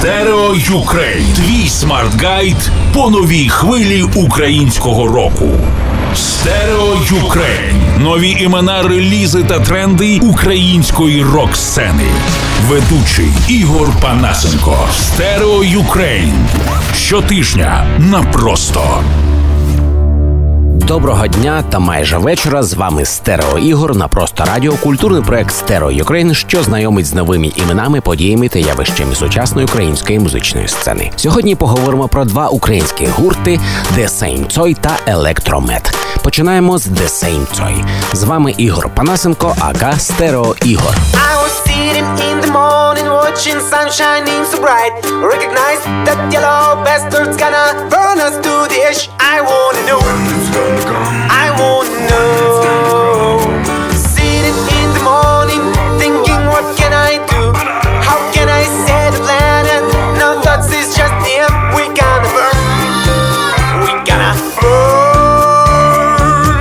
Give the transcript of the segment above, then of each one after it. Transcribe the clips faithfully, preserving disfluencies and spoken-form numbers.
Стерео Юкрейн. Твій смарт-гайд по новій хвилі українського року. Стерео Юкрейн. Нові імена, релізи та тренди української рок-сцени. Ведучий Ігор Панасенко. Стерео Юкрейн. Щотижня на Просто. Доброго дня та майже вечора. З вами Стерео Ігор на Просто Радіо. Культурний проект Стерео Юкрейн, що знайомить з новими іменами, подіями та явищами сучасної української музичної сцени. Сьогодні поговоримо про два українські гурти The Same Toy та Електромед. Починаємо з The Same Toy. З вами Ігор Панасенко, ака Стерео Ігор. Sitting in the morning, watching sun shining so bright. Recognize that yellow bastard's gonna burn us to the ash. I wanna know when it's gonna come. I wanna know. Sitting in the morning, thinking what can I do? How can I save the planet? No thoughts is just the end. We gonna burn. We gonna burn.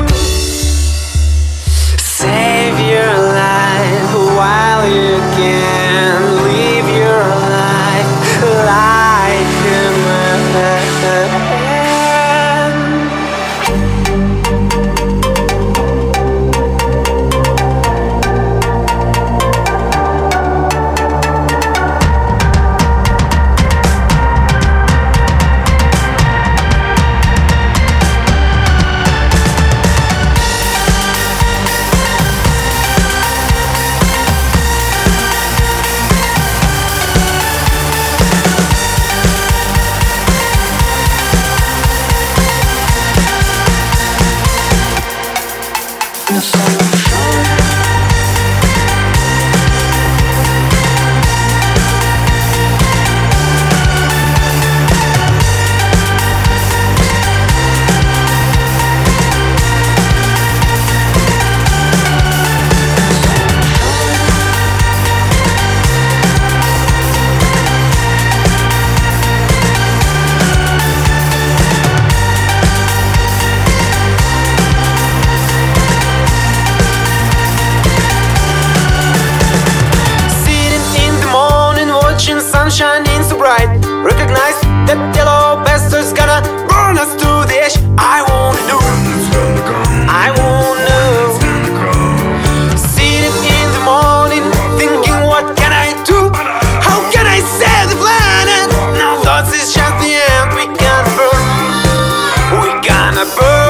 Save your life while you can. Live your life like a man. Shining so bright. Recognize that yellow bastard's gonna burn us to the ash. I wanna know when it's gonna come. I wanna know when it's gonna come. Sitting in the morning, thinking what can I do? How can I save the planet? No thoughts is just the end. We gonna burn. We gonna burn.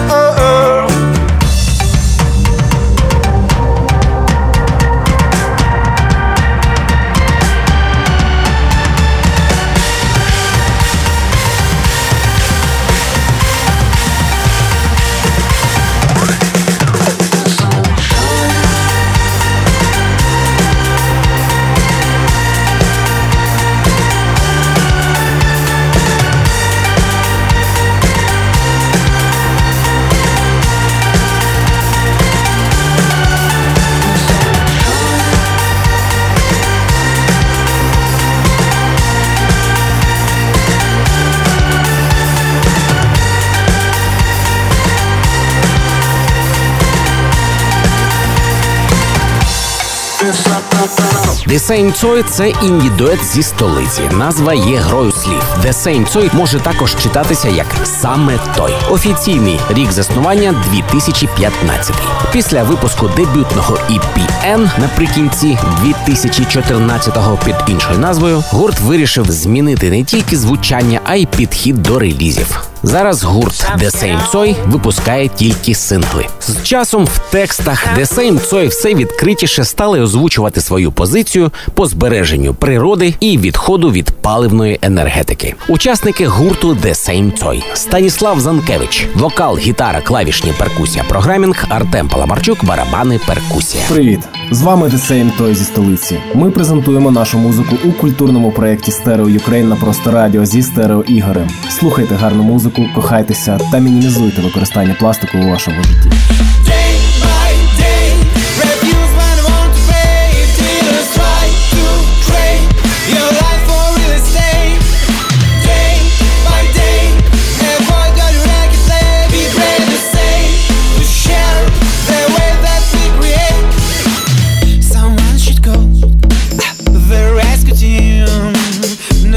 The Same Toy – це інді-дует зі столиці. Назва є грою слів. The Same Toy може також читатися як «Саме той». Офіційний рік заснування – дві тисячі п'ятнадцятий. Після випуску дебютного і пі ен наприкінці дві тисячі чотирнадцятого під іншою назвою, гурт вирішив змінити не тільки звучання, а й підхід до релізів. Зараз гурт The Same Toy випускає тільки сингли. З часом в текстах The Same Toy все відкритіше стали озвучувати свою позицію по збереженню природи і відходу від паливної енергетики. Учасники гурту The Same Toy: Станіслав Занкевич, вокал, гітара, клавішні, перкусія, програмінг, Артем Паламарчук, барабани, перкусія. Привіт! З вами The Same Toy зі столиці. Ми презентуємо нашу музику у культурному проєкті Стерео Юкрейн на Просто Радіо зі Стерео Ігорем. Слухайте гарну музику, кохайтеся та мінімізуйте використання пластику у вашому житті. No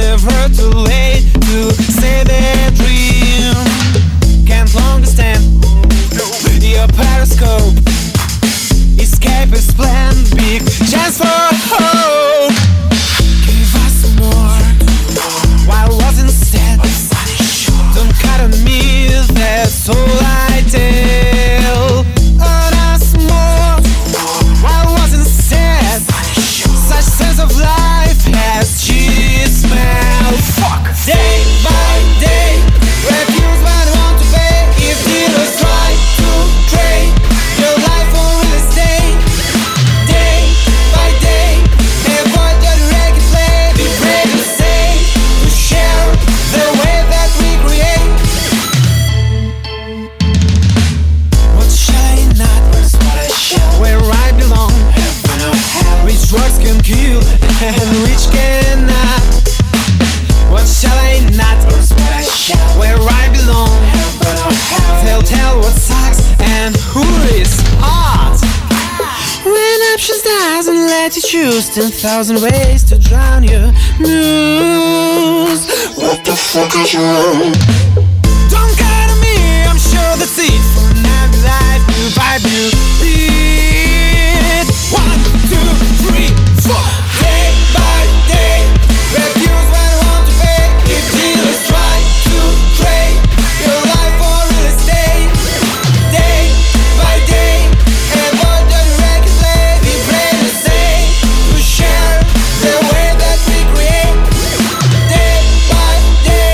and which cannot. What shall I not? Where I belong. They'll tell what sucks and who is art. When options doesn't let you choose ten thousand ways to drown your news. What the fuck is wrong? Don't cry to me, I'm sure that's it. For now, life, you vibe, you beat. One, two, three, four. Day by day, refuse when I want to pay. If dealers try to trade your life for real estate. Day by day, avoid the record label. Be brave and say to share the way that we create. Day by day,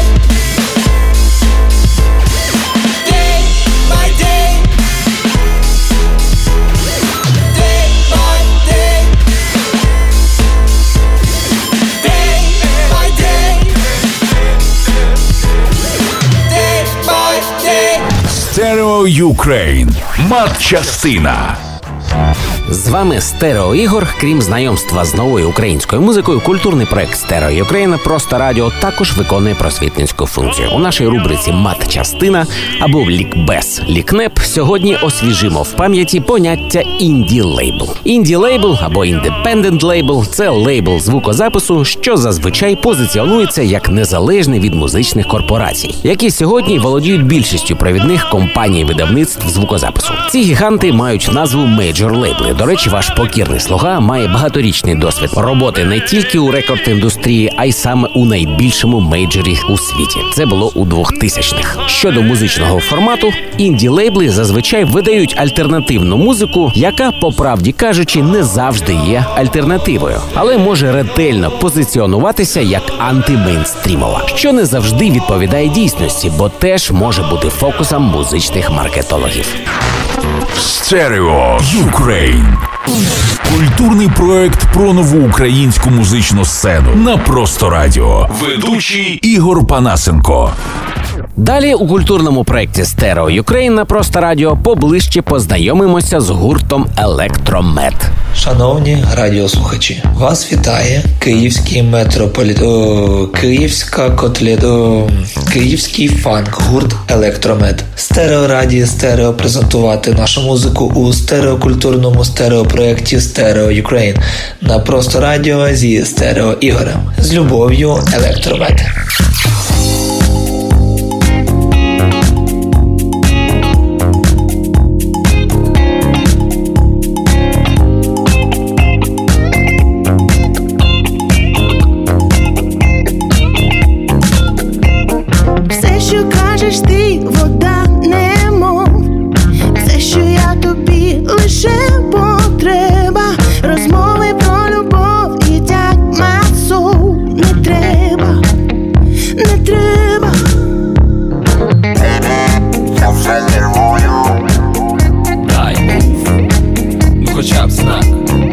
day by day, day by day, day by day, day by day. Стерео Юкрейн. Матчастина. З вами Стерео Ігор. Крім знайомства з новою українською музикою, культурний проект Стерео Юкрейн «Просто радіо» також виконує просвітницьку функцію. У нашій рубриці «Матчастина» або «Лікбез Лікнеп» сьогодні освіжимо в пам'яті поняття інді-лейбл. Інді-лейбл або індепендент лейбл – це лейбл звукозапису, що зазвичай позиціонується як незалежний від музичних корпорацій, які сьогодні володіють більшістю провідних компаній видавництв звукозапису. Ці гіганти мають назву мейджор-лейбли. До речі, ваш покірний слуга має багаторічний досвід роботи не тільки у рекорд-індустрії, а й саме у найбільшому мейджорі у світі. Це було у двохтисячних. Щодо музичного формату, інді-лейбли зазвичай видають альтернативну музику, яка, по правді кажучи, не завжди є альтернативою, але може ретельно позиціонуватися як антимейнстрімова, що не завжди відповідає дійсності, бо теж може бути фокусом музичних маркетологів. Стерео Юкрейн. Культурний проект про нову українську музичну сцену на Просто радіо. Ведучий Ігор Панасенко. Далі у культурному проєкті «Стерео Юкрейн» на Просто радіо поближче познайомимося з гуртом «Електромед». Шановні радіослухачі, вас вітає Київський метрополіт... О, Київська котлет... О, Київський фанк-гурт «Електромед». Стереорадіо стерео презентувати нашу музику у стереокультурному стереопроєкті «Стерео Юкрейн» на Просто радіо зі Стерео Ігорем. З любов'ю, «Електромед». Ти вода немов, все, що я тобі лише потреба. Розмови про любов і так масово. Не треба, не треба. Я вже нервую. Дай мув, ну хоча б знак.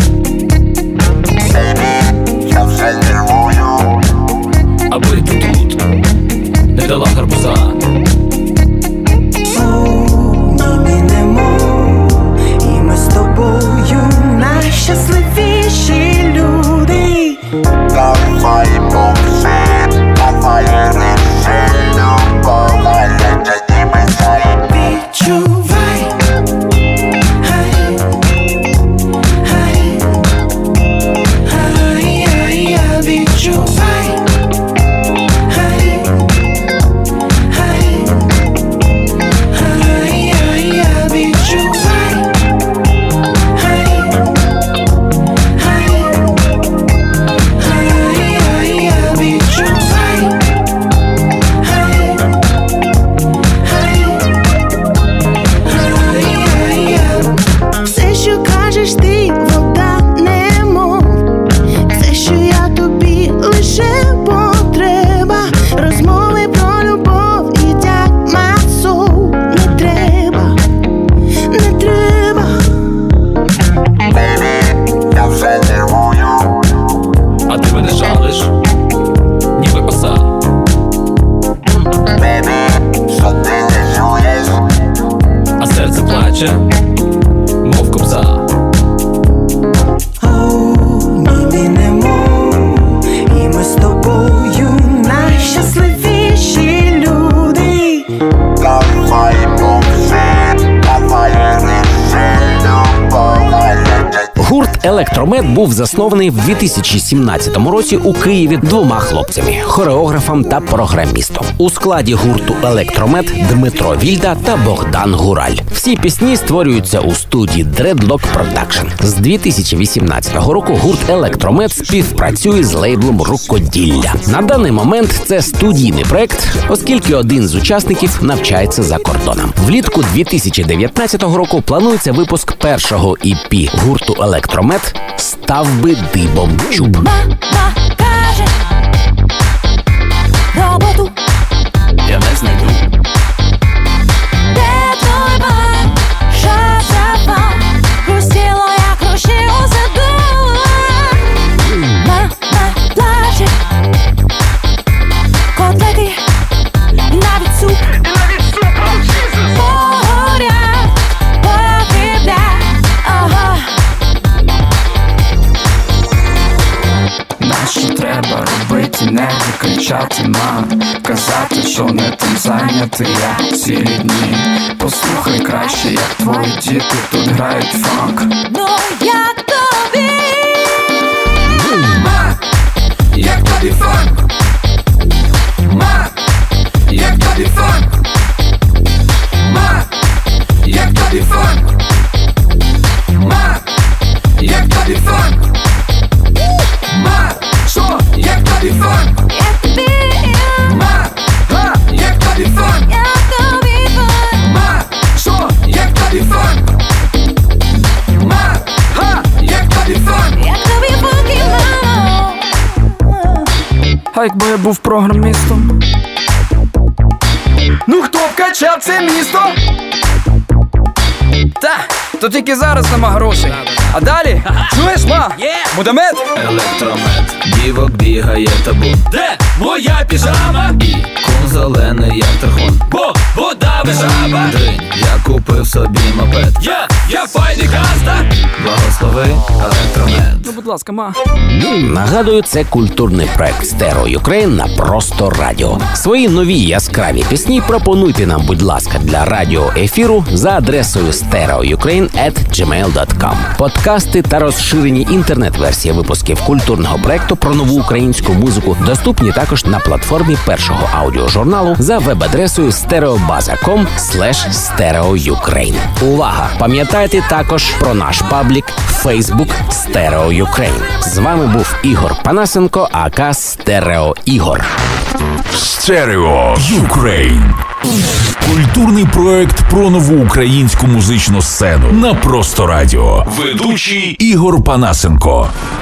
Я вже нервую. Аби ти тут не дала гарбуза. Найщасливіші люди. Давай мовчи, давай ріши, любов, але тоді безай. Відчувай, хай, хай, хай, хай, я відчувай, хай, хай, хай, хай, я відчувай. Ти вода немов, все, що я тобі лише потреба. Розмови про любов і так масово. Не треба, не треба. Я вже нервую. А ти мене жалиш, ніби оса. Що ти не чуєш? А серце плаче, мов кобза. Ніби не мов, Гурт «Електромед» був заснований в дві тисячі сімнадцятому році у Києві двома хлопцями – хореографом та програмістом. У складі гурту «Електромед» Дмитро Вільда та Богдан Гураль. Всі пісні створюються у студії Dreadlock Production. З дві тисячі вісімнадцятого року гурт «Електромед» співпрацює з лейблом «Рукоділля». На даний момент це студійний проект, оскільки один з учасників навчається за кордоном. Влітку дві тисячі дев'ятнадцятого року планується випуск першого і пі гурту «Електромед» «Став би дибом чуб». Мама каже, роботу Я не знайду. де той бар, шазава, хрустіло, як руші у саду. Мама плаче, котлети, навіть суп. Погорять, погиблять, ага. Нащо треба робити, не кричати, мам, казати, що не тим зайнятий я цілі дні. Послухай краще, як твої діти тут грають фанк. Ну як тобі? Ма, як тобі фанк? Ма, як тобі фанк? Ма, як тобі фанк? Ма, як тобі фанк? Ма, що? Як тобі фанк? Як тобі? Ма, га, як тобі фанк? Як тобі фан? Ма, що? Як тобі фанк? Ма, га, як тобі фанк? Як тобі фанки, мамо? А якби я був програмістом? Ну хто вкачав це місто? Та, то тільки зараз нема грошей. А далі, чуєш, ма? Мудамет? Електромед, дівок бігає табун. Де моя піжама? І кун зелений, як тархун. Бо вода жаба. Дринь, я купив собі мопед. Я, я файний каста. Благослови електромед. Ну, будь ласка, ма. Нагадую, це культурний проект Стерео Юкрейн на Просто Радіо. Свої нові яскраві пісні пропонуйте нам, будь ласка, для радіоефіру за адресою стерео юкрейн ет джимейл точка ком. Подкасти та розширені інтернет-версії випусків культурного проекту про нову українську музику доступні також на платформі першого аудіожурналу за веб-адресою стереобаза точка ком слеш стерео юкрейн. Увага! Пам'ятайте також про наш паблік Facebook Стерео Юкрейн. З вами був Ігор Панасенко, ака Стерео Ігор. Стерео Юкрейн. Культурний проект про нову українську музичну сцену на Просто Радіо. Ведучий Ігор Панасенко.